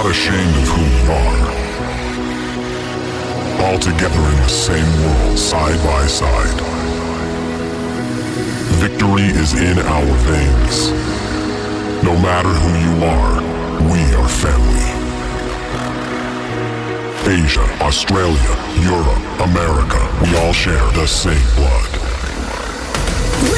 not ashamed of who we are. All together in the same world, side by side. Victory is in our veins. No matter who you are, we are family. Asia, Australia, Europe, America, we all share the same blood. We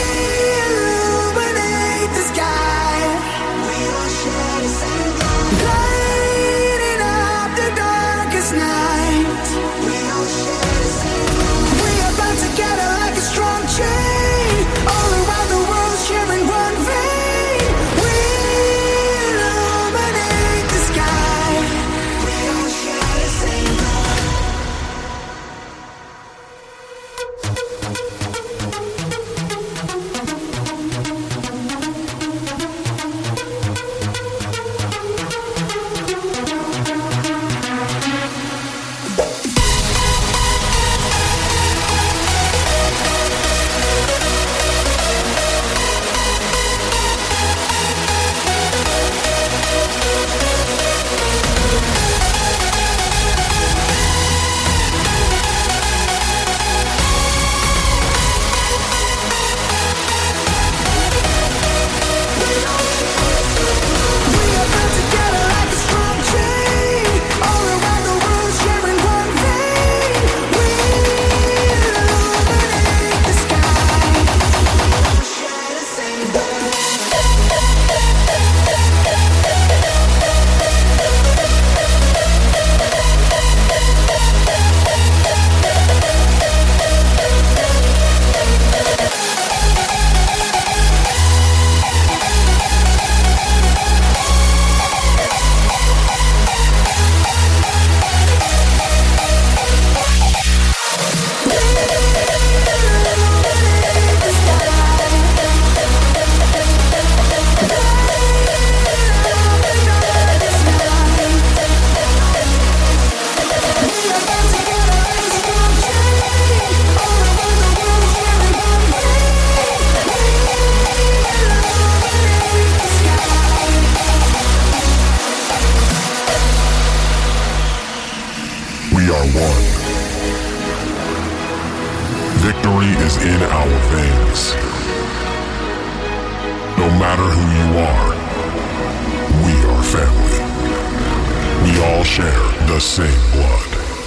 illuminate the sky. We all share the same blood. Lighting up the darkest night. We all share the same blood. We are bound together like a strong chain. All around the world sharing one vein. We illuminate the sky. We all share the same blood. We are one. Victory is in our veins. No matter who you are, we are family. We all share the same blood.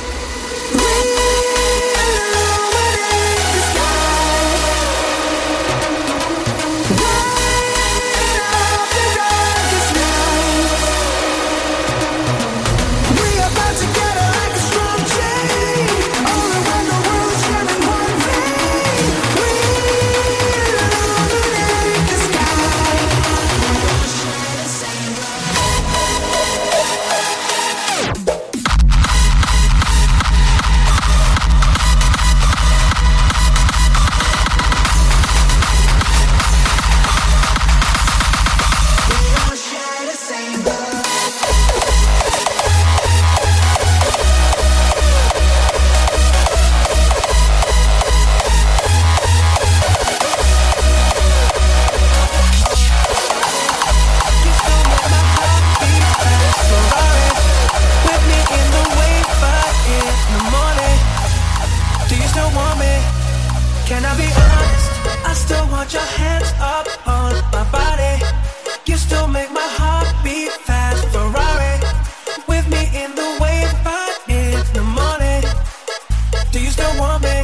Can I be honest? I still want your hands up on my body. You still make my heart beat fast. Ferrari with me in the wave, but in the morning. Do you still want me?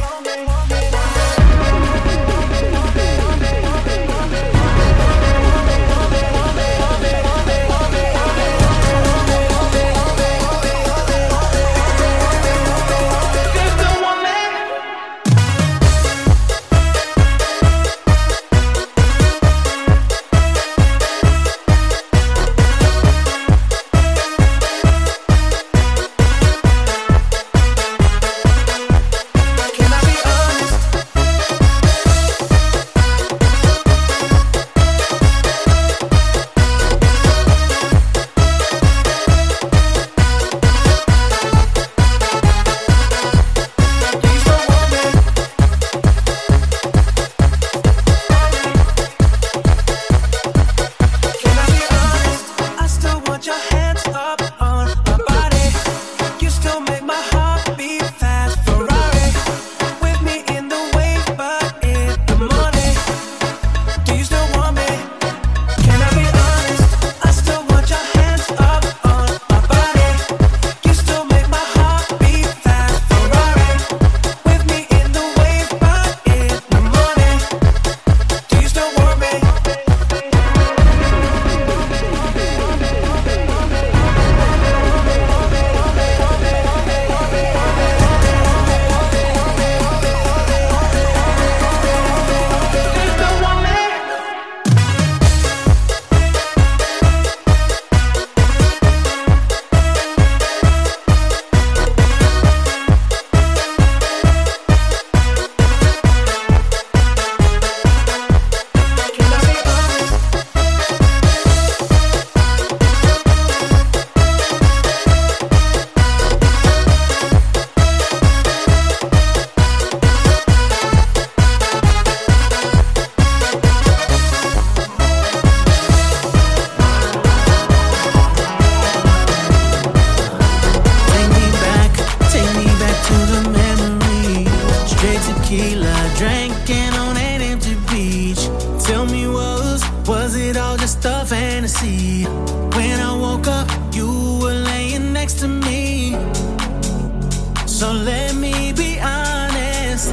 Straight tequila, drinking on an empty beach. Tell me, was it all just a fantasy? When I woke up, you were laying next to me. So let me be honest,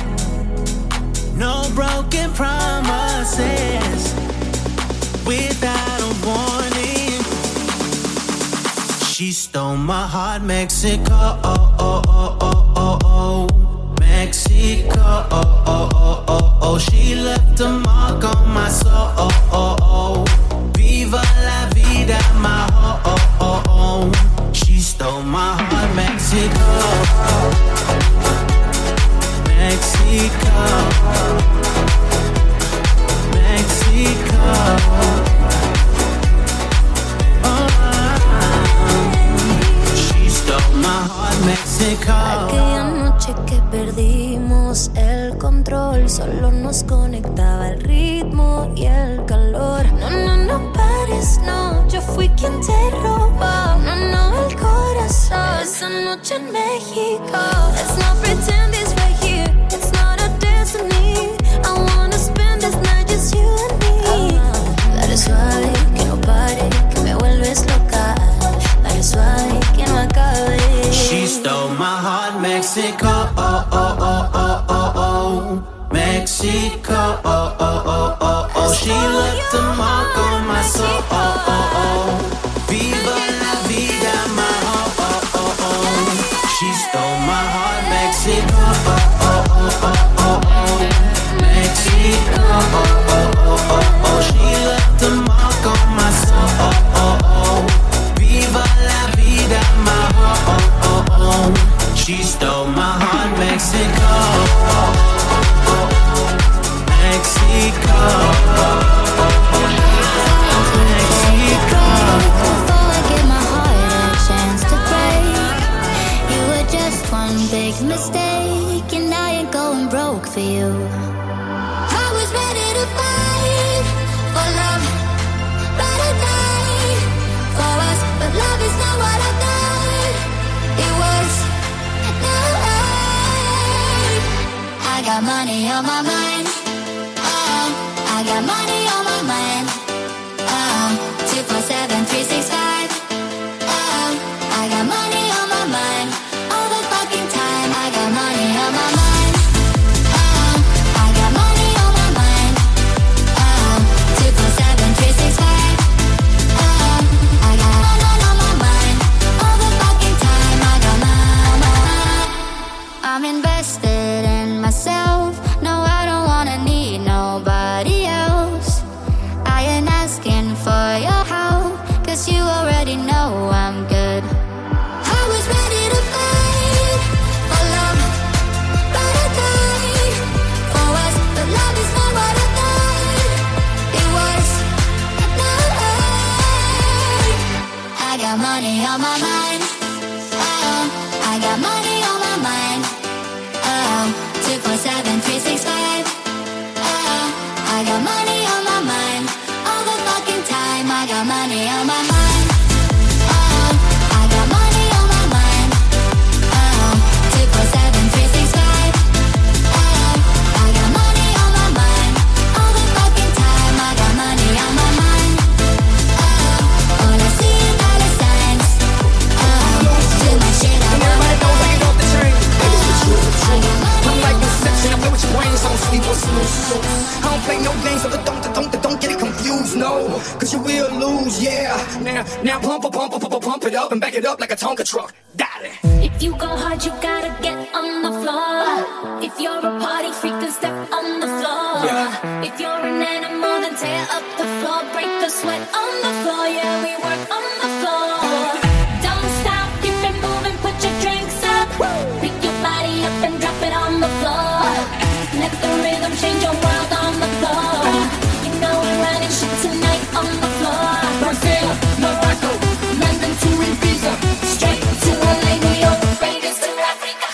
no broken promises without a warning. She stole my heart, Mexico, Mexico, she left a mark on my soul. Viva la vida, my home. She stole my heart, Mexico, Mexico, Mexico. She stole my heart, Mexico. Aquella noche que perdimos el control, solo nos conectaba el ritmo y el calor. No pares, no, yo fui quien te robó. No, el corazón. Esa noche en México. Let's not pretend it's right here, it's not a destiny. I wanna spend this night just you and me. Dale suave, que no pare, que me vuelves loca. Dale suave, que no acabe. She stole my heart, Mexico, Mexico, she left a mark on my soul. Viva la vida, my home. She stole my heart, Mexico, Mexico, she left a mark on my soul. Viva la vida, my home. She stole my heart, Mexico, Mexico, Mexico. Before I gave my heart a chance to break, you were just one big mistake, and I ain't going broke for you. I was ready to fight for love, ready to die for us, but love is not what I thought it was. No, I got money on my mind. I got money on my mind. 247, 365. I got money on my mind. All the fucking time. I got money on my mind. I got money on my mind. 247, 365. I got money on my mind. All the fucking time. I got money. I'm invested in myself. No, I don't wanna need nobody else. I ain't asking for your help, 'cause you already know I'm good. I was ready to fight for love, ready to die for us, but love is not what I thought it was. No, I got money on my mind. I got money on my mind. 247, 365. I got money on my mind. All the fucking time. I got money on my mind. I got money on my mind. 247, 365. I got money on my mind. All the fucking time. I got money on my mind. All I see is dollar signs. Do my shit, I want everybody knows I get off the train. I got money I'm like on my Inception, I mind. play with your brains, I don't sleep or snooze. I don't play no games, so don't get it confused, no. 'Cause you will lose, yeah. Now pump it up and back it up like a Tonka truck. Dale. If you go hard, you gotta get on the floor. If you're a party freak, then step on the floor. Yeah. If you're an animal, then tear up the floor. Break the sweat on the floor. Yeah, we work on the floor. Don't stop, keep it moving, put your drinks up. Pick your body up and drop it on the floor. Let the rhythm change your world on the floor. You know we're running shit tonight on the floor. Brazil, Morocco, London to Ibiza, straight to LA, New York, Vegas to Africa.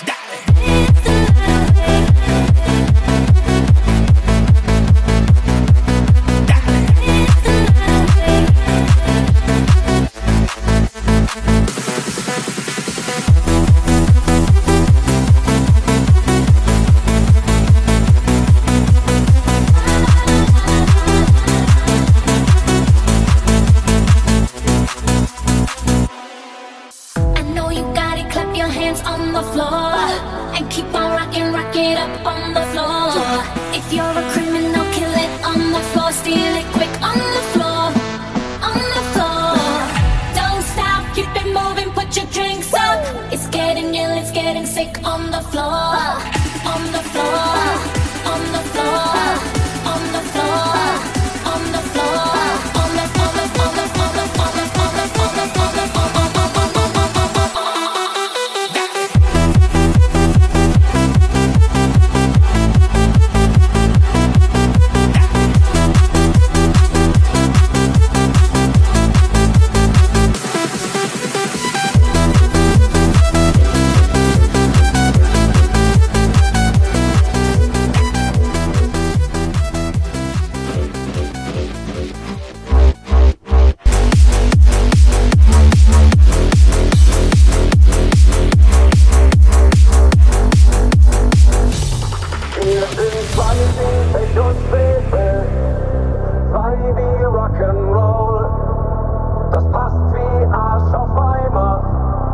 Pech und Frevel, zwei wie Rock'n'Roll. Das passt wie Arsch auf Eimer,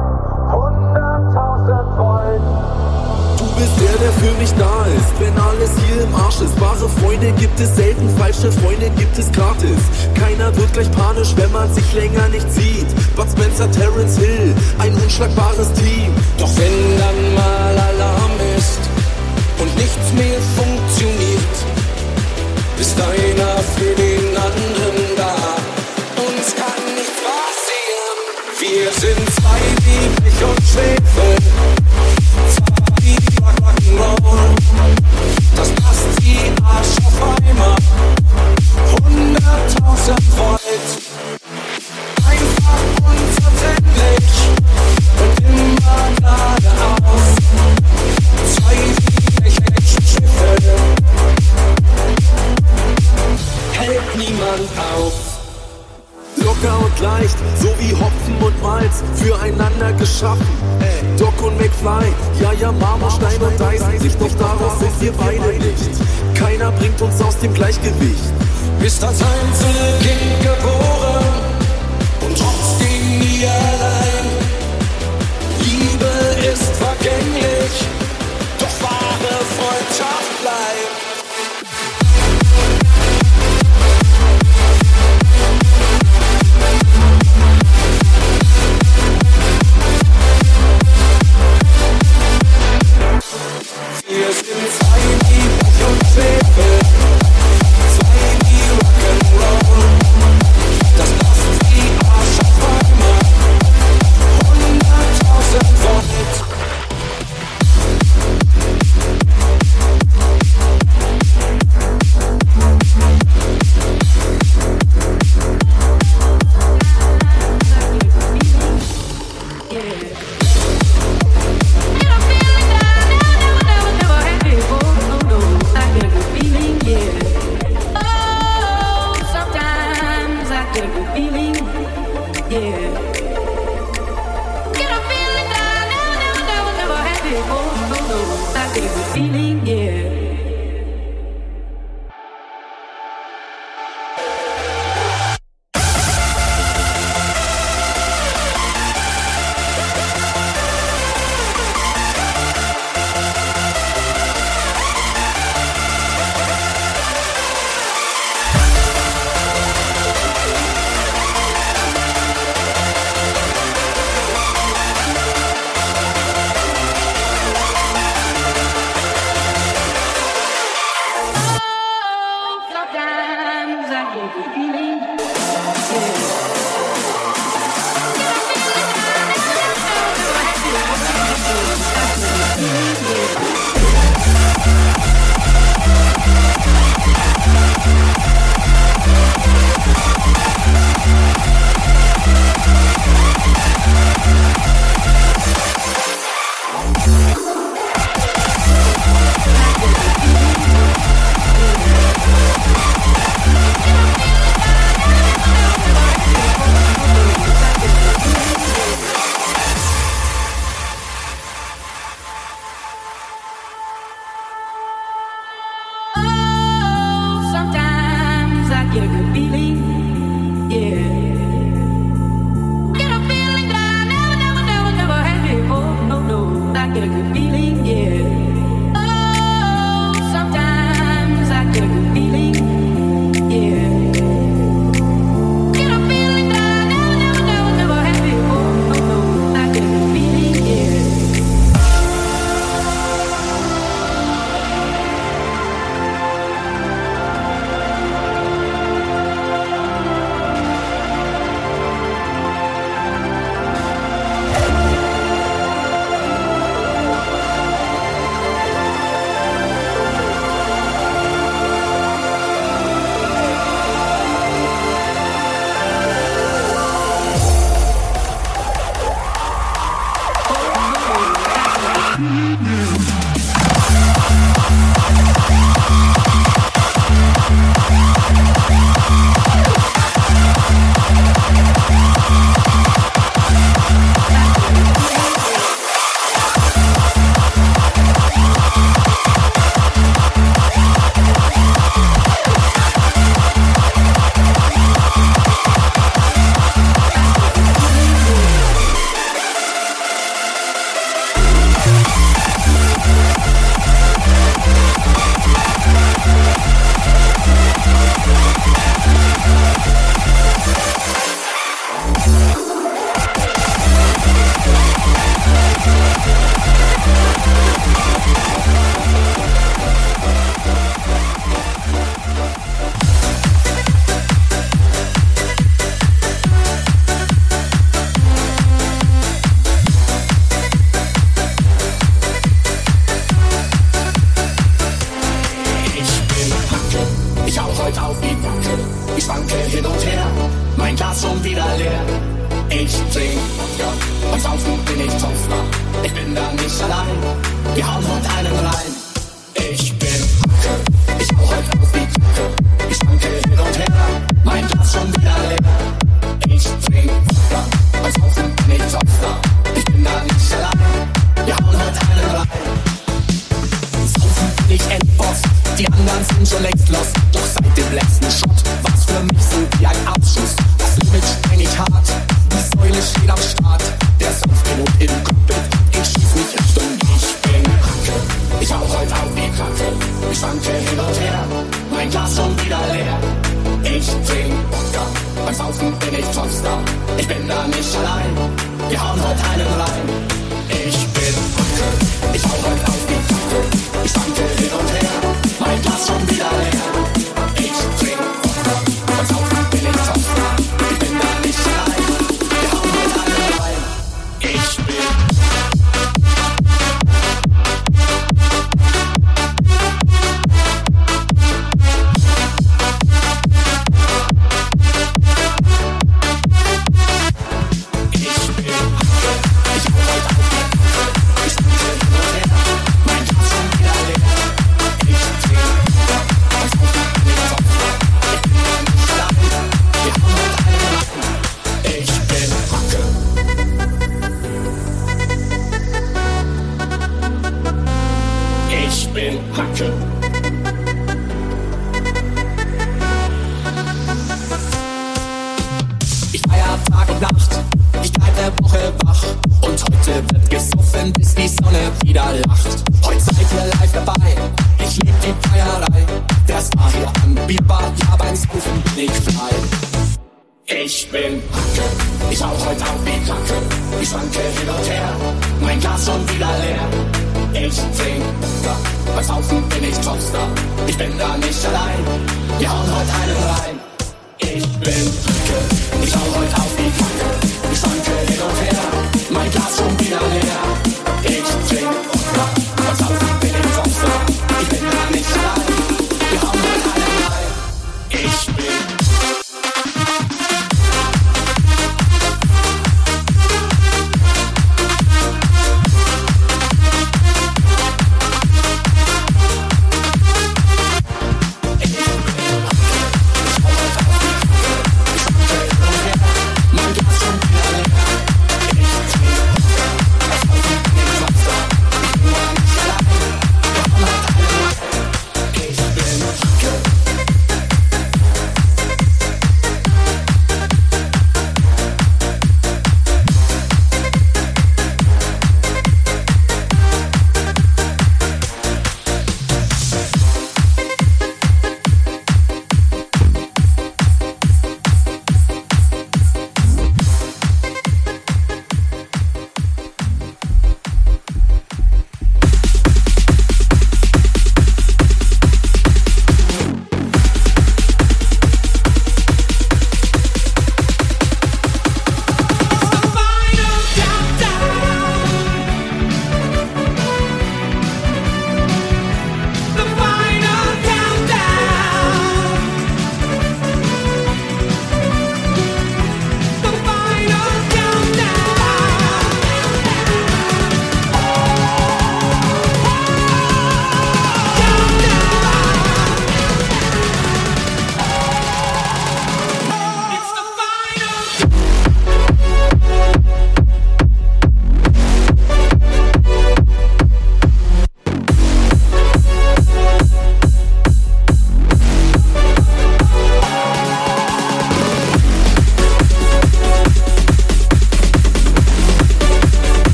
100.000 Volt. Du bist der für mich da ist, wenn alles hier im Arsch ist. Wahre Freunde gibt es selten, falsche Freunde gibt es gratis. Keiner wird gleich panisch, wenn man sich länger nicht sieht. Bud Spencer, Terence Hill, ein unschlagbares Team. Doch wenn dann mal Alarm ist und nichts mehr funktioniert, ist einer für den anderen da. Uns kann nichts passieren. Wir sind zwei wie Pech und Schwefel, zwei wie Rock'n'Roll. Das passt wie Arsch auf Eimer, 100.000 Volt. Einfach unverzüglich und immer geradeaus. Zwei wie Schiffe, hält niemand auf. Locker und leicht, so wie Hopfen und Malz, füreinander geschaffen. Doc und McFly, ja, Marmorstein und Eisensicht, doch daraus sind wir beide nicht. Keiner bringt uns aus dem Gleichgewicht. Bist als Einzelkind geboren und trotzdem nie allein. Liebe ist vergänglich, doch wahre Freundschaft bleibt. Wir sind zwei wie Pech und Schwefel, zwei wie Rock'n'Roll. Das passt wie Arsch auf Eimer, 100.000 Volt. Die anderen sind schon längst los, doch seit dem letzten Shot war's für mich so wie ein Abschuss. Das Limit spreng ich hart, die Säule steht am Start. Der Sanftpilot im Cockpit, ich schieß mich Richtung, ich bin Hacke. Ich hau heute auf die Kacke, ich schwanke hin und her, mein Glas schon wieder leer. Ich trink Wodka, beim Saufen bin ich Topstar. Ich bin da nicht allein, wir hauen heute einen rein. Ich bin Hacke, ich hau heute auf die Kacke, ich schwanke hin und her, mein Glas schon wieder leer. Ich trink Wodka, beim Saufen bin ich Topstar. Ich bin da nicht allein, wir hauen heute einen rein. Ich bin Hacke. Ich feier Tag und Nacht, ich bleib der Woche wach. Und heute wird gesoffen, bis die Sonne wieder lacht. Heute seid ihr live dabei, ich lieb die Feierei. Der Star hier am Bierbar, ja beim Saufen bin ich frei. Ich bin Hacke, ich hau heute auf die Kacke. Ich schwanke hin und her, mein Glas schon wieder leer. Ich trink Wodka, beim Saufen bin ich Topstar. Ich bin da nicht allein, wir hauen heute einen rein. Ich bin Hacke, ich hau heute auf die Kacke. Ich schwanke hin und her, mein Glas schon wieder leer. Ich trink Wodka, beim Saufen bin ich Topstar. Ich bin da nicht allein, wir hauen heute einen rein. Ich bin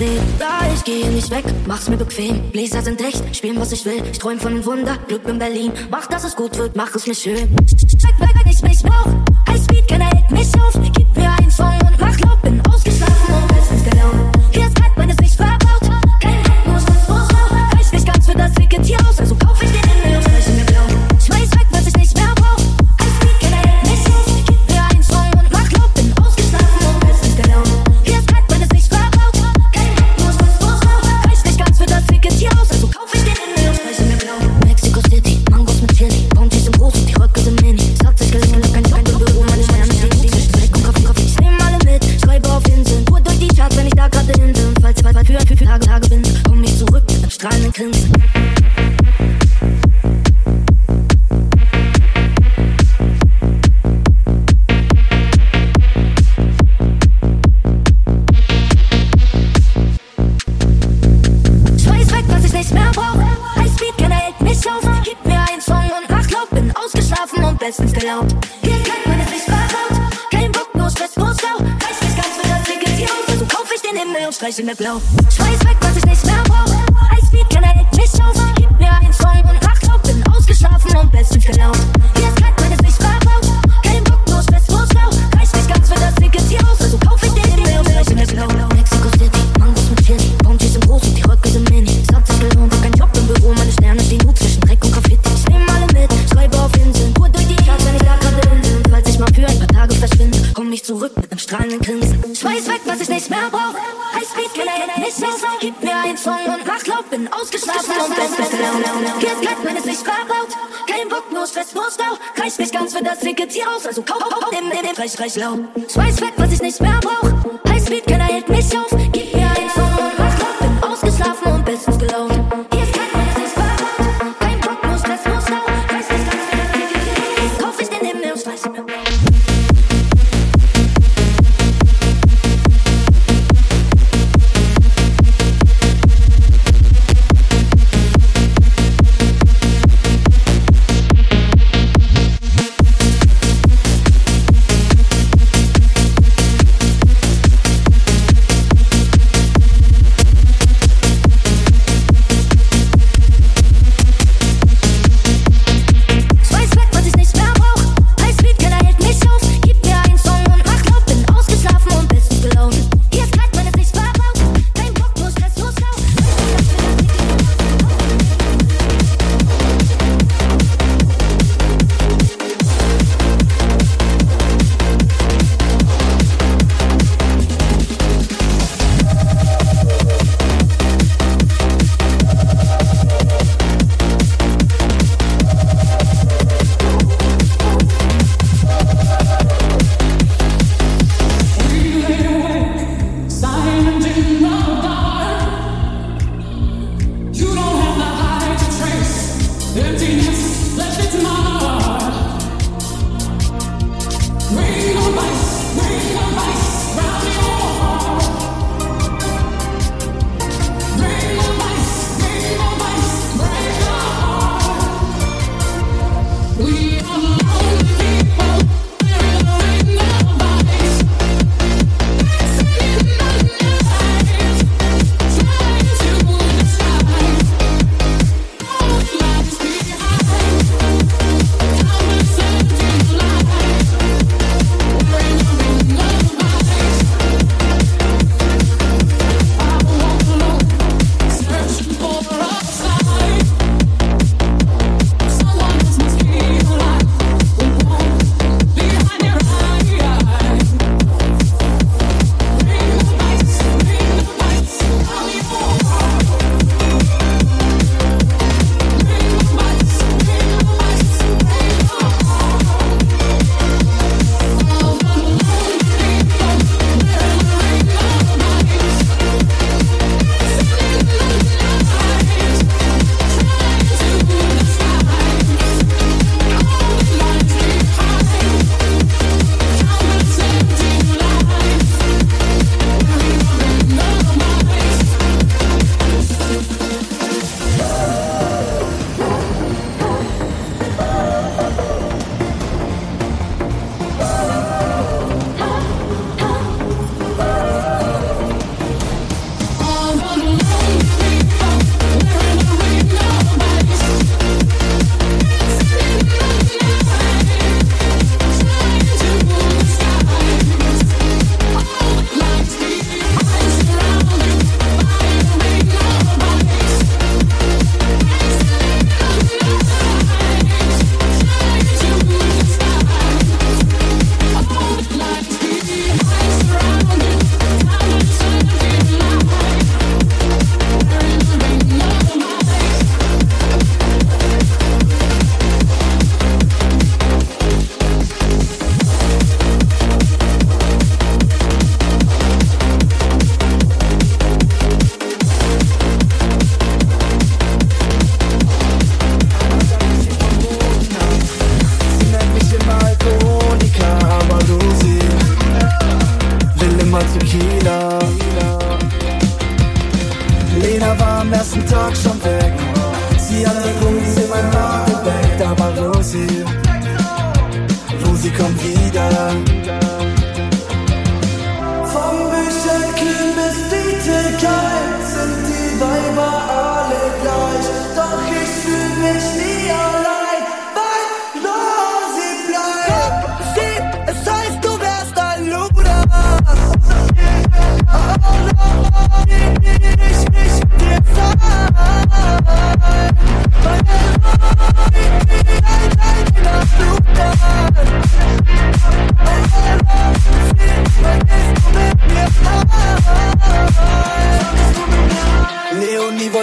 dreht. Ja, ich gehe nicht weg, mach's mir bequem. Bläser sind echt, spielen was ich will. Ich träum von einem Wunder, Glück in Berlin. Mach, dass es gut wird, mach es mir schön. Check, wenn ich mich brauch. Highspeed, keiner hält mich auf. Gib mir einen Song und mach laut. Bin ausgeschlafen und bestens gelaunt. Hier ist kalt, meine Sicht verbaut. Kein nur Stress, reicht nicht ganz für das Ticket hier aus. Also kauf ich den Himmel und streiche mir blau. Schmeiß weg, was ich nicht mehr brauch. Highspeed, keiner hält mich auf. Gib mir einen Song und mach laut. Bin ausgeschlafen und bestens gelaunt. Hier ist kalt, meine Sicht verbaut. Kein nur Stress, reicht nicht ganz für das Ticket hier aus. Also kauf ich den Himmel und streiche mir blau. Mexico City, Mangos mit Chili. Bounties sind groß und die Röcke sind mini. Sagt sich gelungen, kein Büro, meine Sterne stehen gut zwischen Dreck und Kaffee. Ich nehm alle mit, schreibe auf Inseln. Tour durch die Charts, wenn ich da gerade hin bin. Falls für Tage bin, komm ich zurück mit einem strahlenden Grinsen. Schmeiß weg, was ich nicht mehr brauch. Highspeed, keiner hält mich auf. Gib mir einen Song und mach laut. Bin ausgeschlafen und bestens gelaunt. Hier ist kalt, meine Sicht verbaut. Kein Bock, nur Stress, nur Stau. Reicht nicht ganz für das Ticket hier aus. Also kauf ich den Himmel und streiche mir blau. Schmeiß weg, was ich nicht mehr brauch. Highspeed, keiner hält mich auf. Gib mir einen Song und mach laut. Bin ausgeschlafen und bestens gelaunt. Hier ist kalt, meine Sicht verbaut. Kein Bock, nur Stress, nur Stau. Reicht nicht ganz für das Ticket hier aus. Also kauf ich den Himmel und streiche mir blau. Mexico City, Mangos mit Chili. Bounties sind groß und die Röcke sind mini. Sagt sich gelohnt, kein Job im Büro. Meine Sterne stehen gut zwischen Dreck und Graffiti. Ich nehm alle mit, schreibe auf Inseln. Tour durch die Charts, wenn ich da gerade hin bin. Falls ich mal für ein paar Tage verschwinde, komm ich zurück mit einem strahlenden Grinsen. Schmeiß weg, was ich nicht mehr brauch. Highspeed, keiner hält mich auf. Gib mir einen Song und mach laut. Bin ausgeschlafen und bestens gelaunt. Hier ist kalt, meine Sicht verbaut. Kein Bock, nur Stress, nur Stau. Reicht nicht ganz für das Ticket hier aus. Also kauf im reich laut. Schmeiß weg, was ich nicht mehr brauch. Highspeed, keiner hält mich auf. Gib mir einen Song und mach laut. Bin ausgeschlafen und bestens gelaunt. Hier ist kalt, meine Sicht verbaut. Kein Bock, nur Stress, nur Stau. Reicht nicht ganz für das Ticket hier aus. Kauf ich den Himmel und streiche mir blau.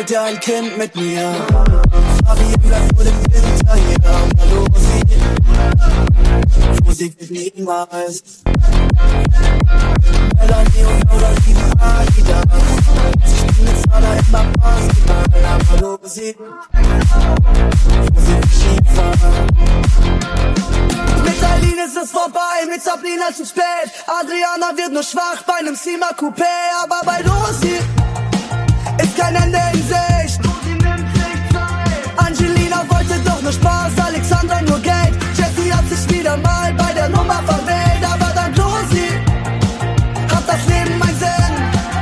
wieder ein Kind mit mir. Fabian bleibt nur den Winter hier. Hallo, Musik wird niemals. Melanie und Laura lieben Adidas. Sie spielen jetzt alle immer Basketball. Aber Musik Skifahren. Mit Eileen ist es vorbei, mit Sabrina zu spät. Adriana wird nur schwach bei nem Sima Coupé. Aber bei Rosi ist kein Ende in Sicht. Angelina wollte doch nur Spaß, Alexandra nur Geld. Jessie hat sich wieder mal bei der Nummer verwählt. Aber dank Rosi hat das Leben einen Sinn.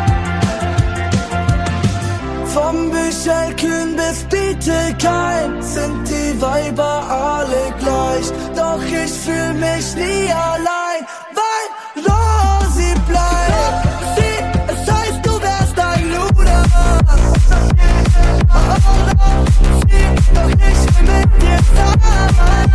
Vom Büchelkühn bis Bietigheim sind die Weiber alle gleich. Doch ich fühl mich nie allein, weil Rosi bleibt. Es heißt, du wärst ein Luder. Doch ich will mit dir sein.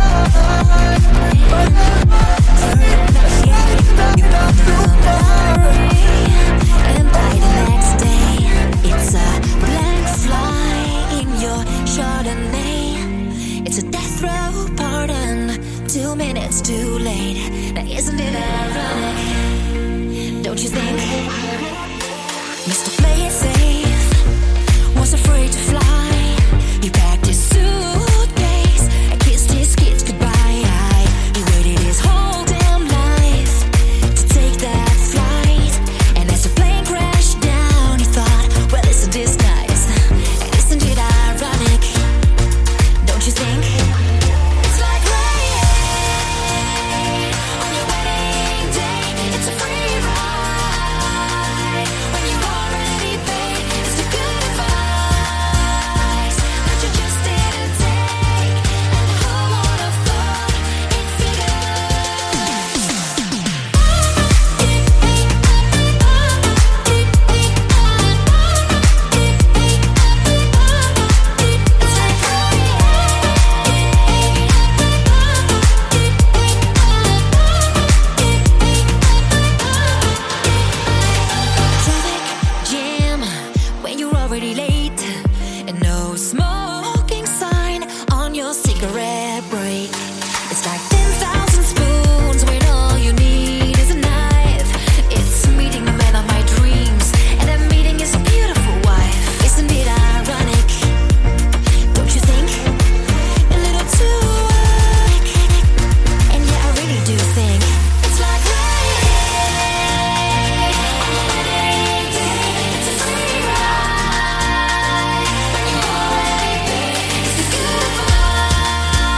And by the next day, it's a blank fly in your Chardonnay. It's a death row pardon, 2 minutes too late. Now isn't it ironic? Don't you think? Mr. Play It Safe was afraid to fly. He packed his suitcase and kissed his kids goodbye. He waited his whole damn life to take that flight. And as the plane crashed down, he thought, well, isn't this nice? And isn't it ironic? Don't you think? It's like rain on your wedding day. It's a free ride when you already paid. It's the good advice that you just didn't take. And who would have thought it Traffic jam when you're already late, and no smoking sign on your cigarette break. It's like 10,000 spoons when all you need is a knife. It's meeting the man of my dreams, and that meeting is a beautiful wife. Isn't it ironic? Don't you think? A little too quick. And yeah, I really do think it's like rain on your wedding day. It's a free ride when you already paid. It's the good advice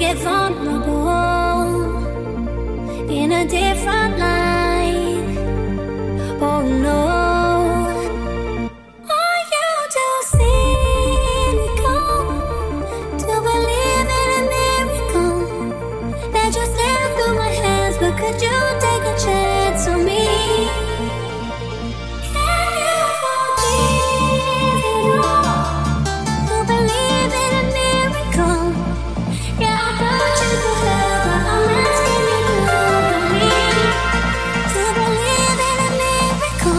get vulnerable in a different light. Oh no. Are you too cynical to believe in a miracle that just slipped through my hands? But could you take a chance on me? Can you forgive it all to believe in a miracle? Yeah, I thought you could help, but I'm asking you to look at me to believe in a miracle.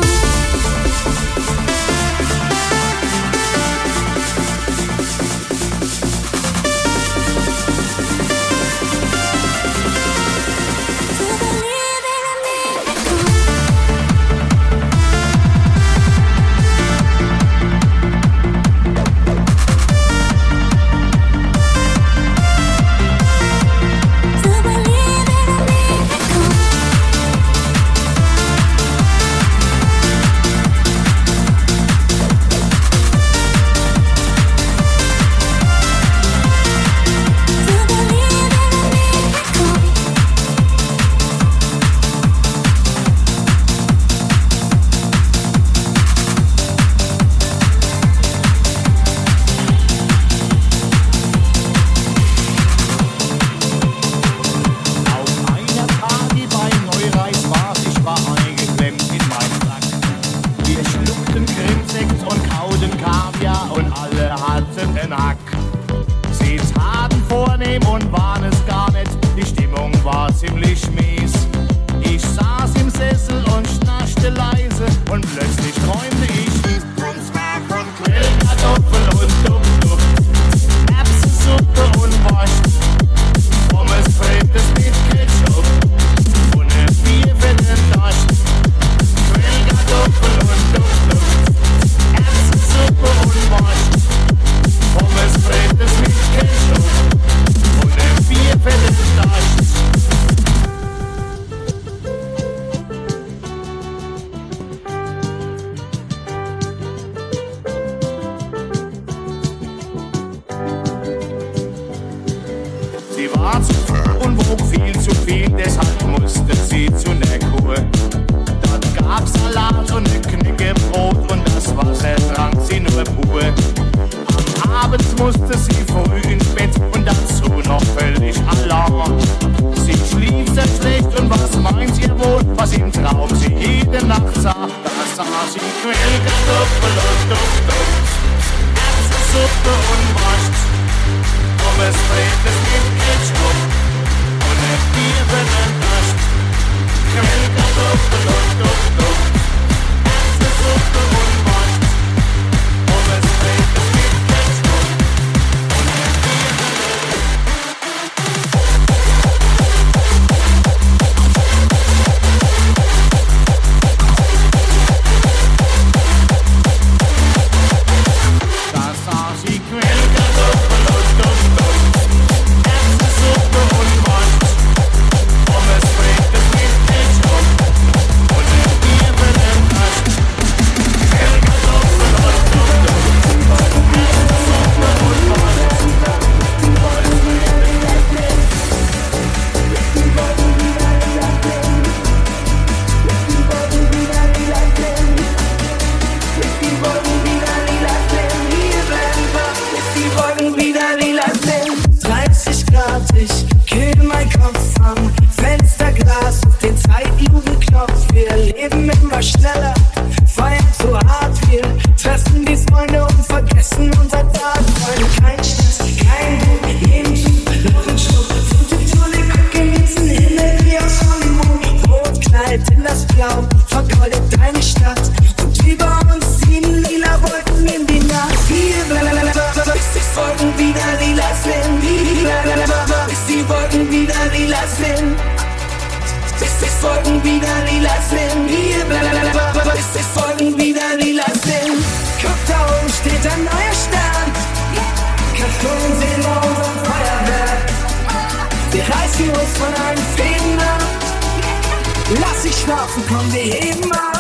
Lass dich schlafen, komm, wir heben ab.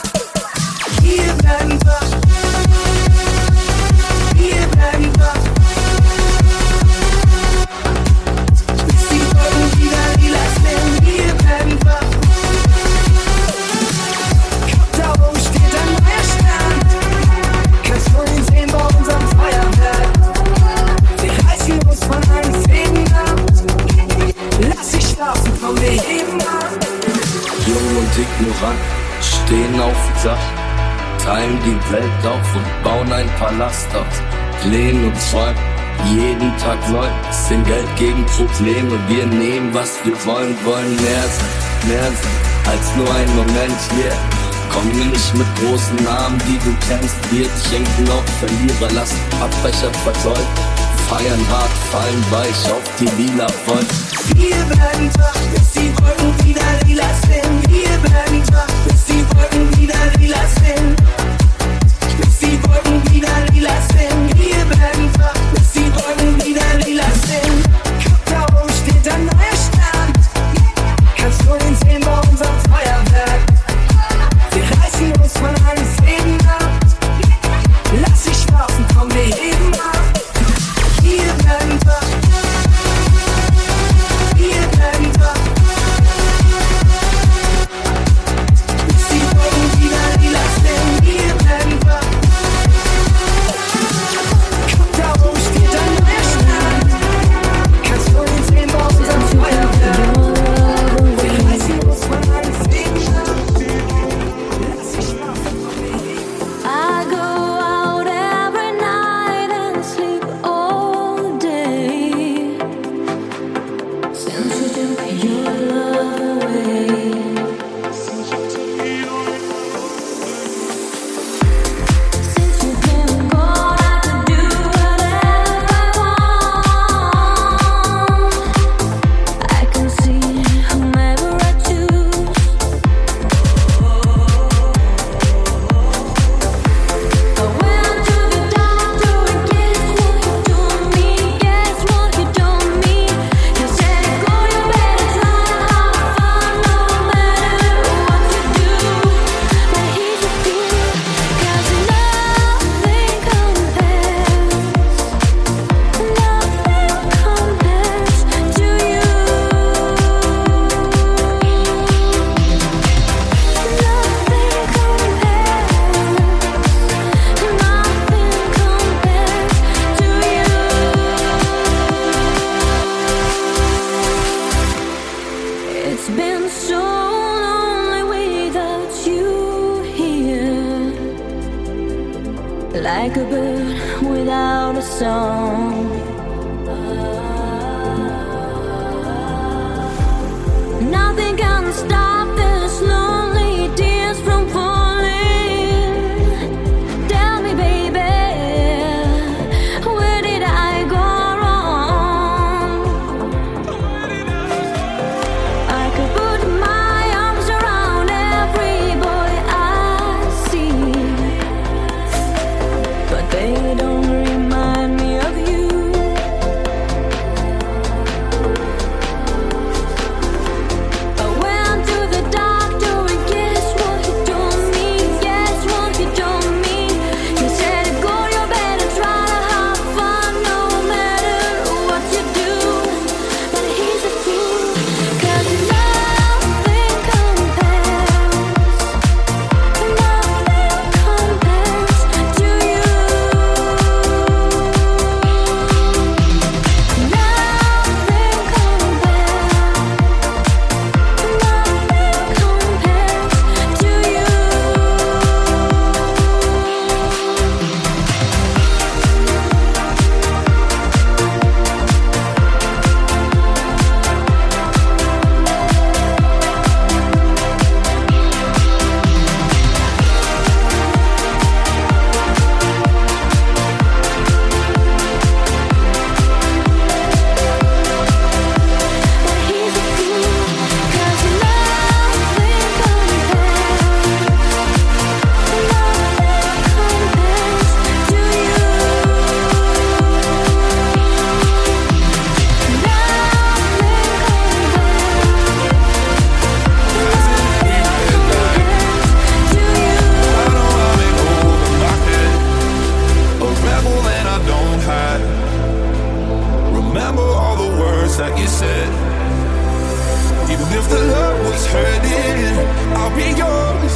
Hier bleiben wir. Hier bleiben wir. Bis komm, wir heben ab. Jung und ignorant, stehen auf dem Dach, teilen die Welt auf und bauen ein Palast aus. Lehnen und träumen, jeden Tag neu, sind Geld gegen Probleme. Wir nehmen, was wir wollen mehr sein als nur ein Moment hier. Komm mir nicht mit großen Namen, die du kennst. Wir trinken auf Verlierer, lassen Abbrecher versäumen. Feiern hart, fallen weich auf die lila Wolken. Wir bleiben wach, bis die Wolken wieder lila sind. Wir bleiben wach, bis die Wolken wieder lila sind. Bis die Wolken wieder lila sind. Wir bleiben wach, bis die Wolken wieder lila sind. Guck, da oben steht ein neuer Stern. Kannst du ihn sehen bei unserem Feuerwerk? Wir reißen uns von allen Fäden ab. Lass dich schlafen, komm, wir heben ab. Wir bleiben wach. Wir bleiben wach. Bis die Wolken wieder lila sind. Wir bleiben wach. Guck, da oben steht ein neuer Stern. Kannst du ihn sehen bei unserem Feuerwerk? Wir reißen uns von allen Fäden ab. Lass dich schlafen, komm, wir heben ab. I go out every night and sleep all day. Since you took your love away. Since you've been gone, I can do whatever I want. I can see whomever I choose. I went to the doctor and guess what he told me? He said, go, you better try to have fun no matter what you do. But he's a fool, 'cause nothing compares to you. It's been so lonely without you here, like a bird without a song. Nothing can stop this lonely tears from falling. Tell me, baby, where did I go wrong? I could put my arms around every boy I see, but they don't remind me of you. I went to the doctor and guess what he told me? Guess what he told me? He said, go, you better try to have fun no matter what you do. But he's a fool, 'cause nothing compares to you. A rebel that I don't hide. Remember all the words that you said. Even if the love was hurting, I'll be yours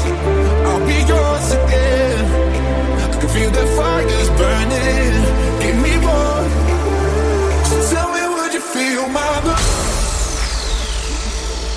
again. I can feel the fires burning. Give me more. So tell me, would you feel my love?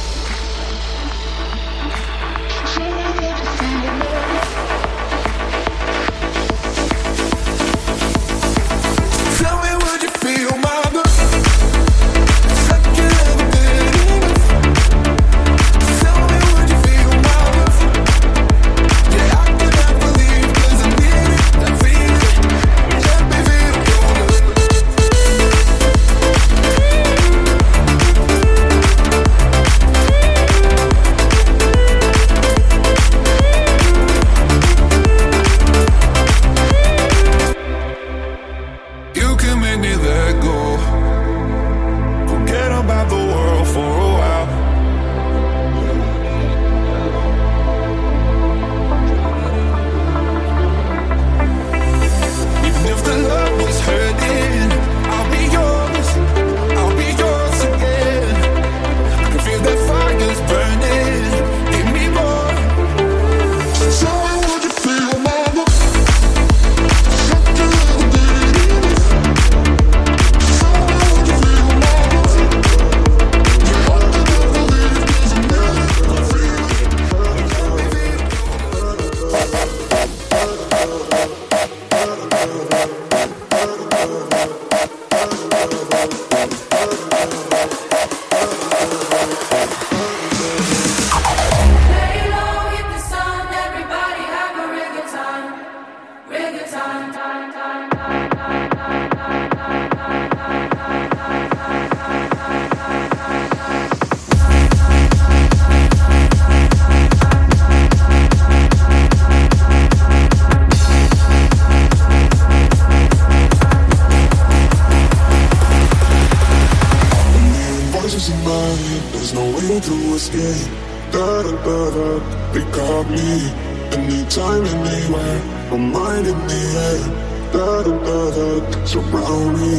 voices in my head, there's no way to escape. Da-da-da-da, they got me. Anytime, anywhere, my mind in the air. Da-da-da-da, surround me.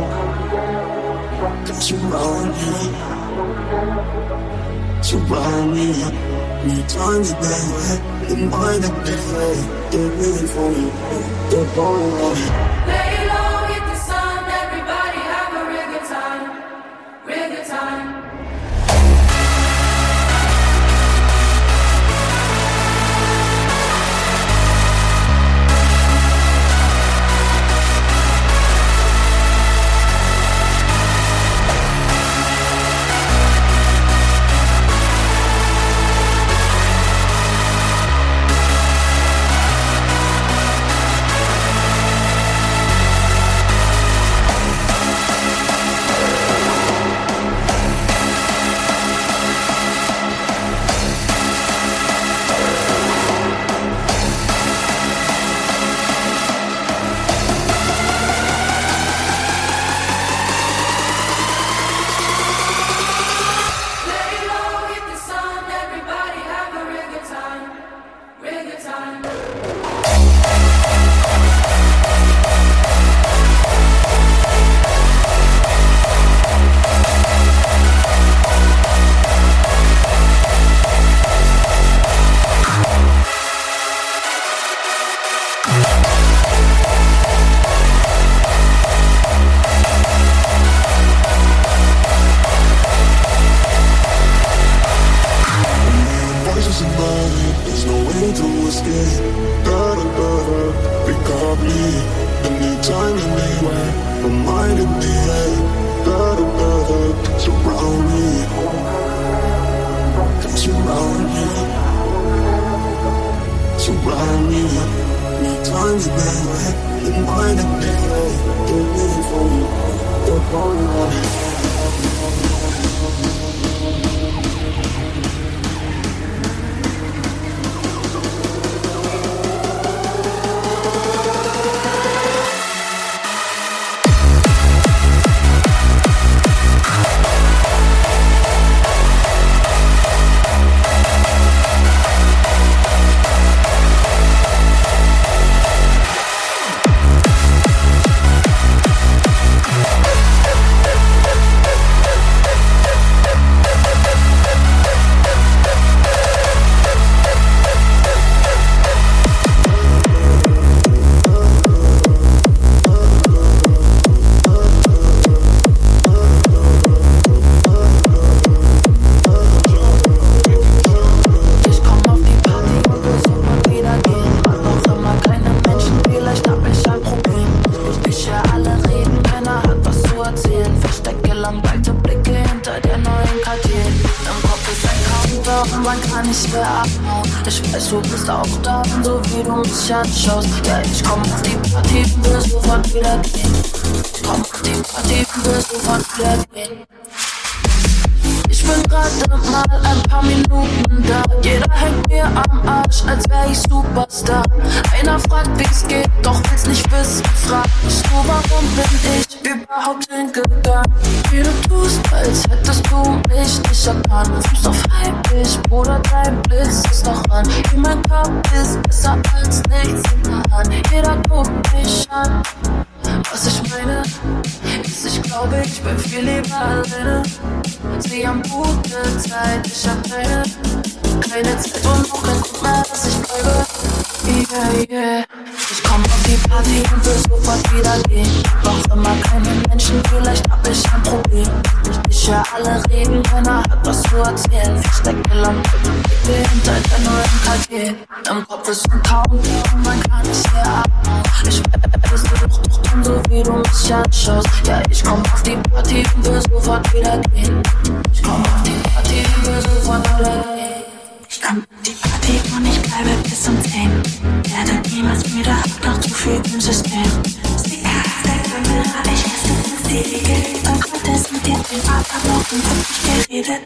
Surround me. Surround me. Anytime, anywhere, my mind in the air. They're waiting for me. They're calling on me. Lay low, hit the sun, everybody have a real good time. Real good time. Anschaust. Ja, ich komm auf die Party, wirst sofort wieder gehen. Ich komm auf die Party, wirst sofort wieder gehen. Ich bin gerade mal ein paar Minuten da. Jeder hängt mir am Arsch, als wär ich Superstar. Einer fragt, wie's geht, doch will's nicht wissen. Frag mich nur, warum bin ich überhaupt hingegangen? Wie du tust, als hättest du mich nicht erkannt. Fuß auf heimlich, Bruder, dein Blitz ist noch an. Wie mein Kopf ist besser als nichts in der Hand. Jeder guckt mich an. Was ich meine, ist, ich glaube, ich bin viel lieber alleine. Sie haben gute Zeit, ich hab keine Zeit und auch kein Grund mehr, dass ich bleibe. Yeah, yeah. Ich komm auf die Party und will sofort wieder gehen. Doch immer keine Menschen, vielleicht hab ich ein Problem. Ich hör alle reden, keiner hat was zu erzählen. Verstecke Lampe, Blicke hinter der neuen KG. Im Kopf ist ein Countdown, man kann nicht hier abhauen. Ich werde doch tun, so wie du mich anschaust. Ja, ich komm auf die Party und will sofort wieder gehen. Ich komm auf die Party und will sofort wieder gehen. Ich komm auf die Party und ich bleibe bis um 10. Werde niemals müde, hab noch zu viel im System. Sticker auf der Kamera, ich hasse das Ewige. Doch heute ist mit dir den Atemlocken wirklich geredet.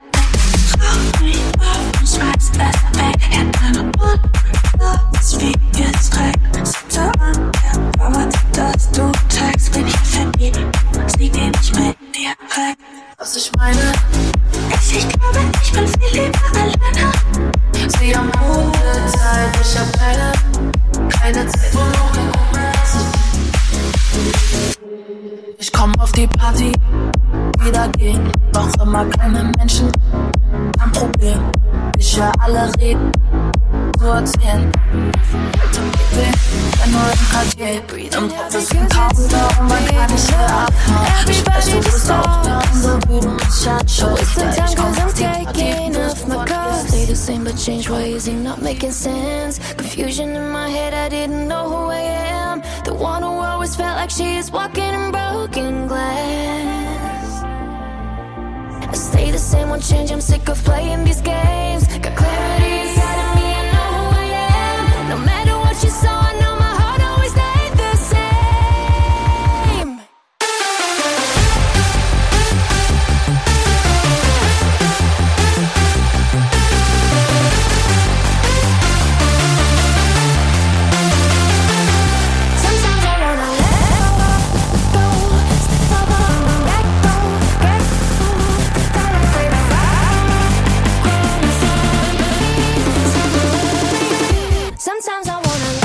Rauch mich auf und schmeiß es weg. Hände und Mund, das Video ist direkt. Sitze an der Warte, dass du zeigst, bin ich verliebt. Sie geht nicht mit dir weg. was ich meine. Ich glaube, ich bin viel lieber alleine. Sie haben gute Zeit, ich hab keine Zeit, wo noch ich komm auf die Party, wieder gehen, noch immer keine Menschen, kein Problem. Ich hör alle reden, so erzählen. Wenn nur im Quartier, im Kopf ist ein Counter und man kann nicht mehr abhauen. Ich weiß, du bist auch da, unsere Buben mich anschauen. Sometimes cause I'm taking off my clothes. Stay the same but change ways and not making sense. Confusion in my head, I didn't know who I am. The one who always felt like she is walking in broken glass. I stay the same, won't change, I'm sick of playing these games. Got clarity inside of me, I know who I am. No matter what you saw, I know my heart always stayed the same. Sometimes I wanna let go, step up and let go, get sometimes I wanna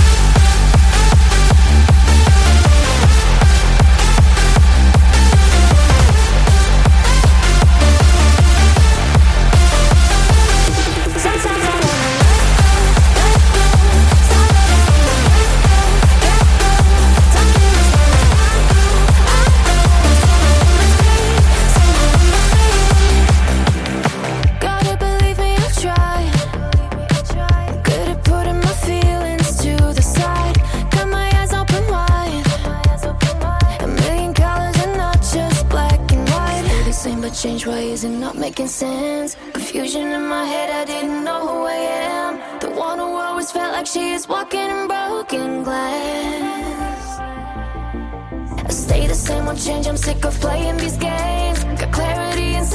gotta believe me, I've tried. Good at putting my feelings to the side. Got my eyes open wide. A million colors and not just black and white. Stay the same but change ways and not making sense. Confusion in my head, I didn't know who I am. The one who always felt like she is walking in broken glass. I stay the same, won't change, I'm sick of playing these games. Got clarity inside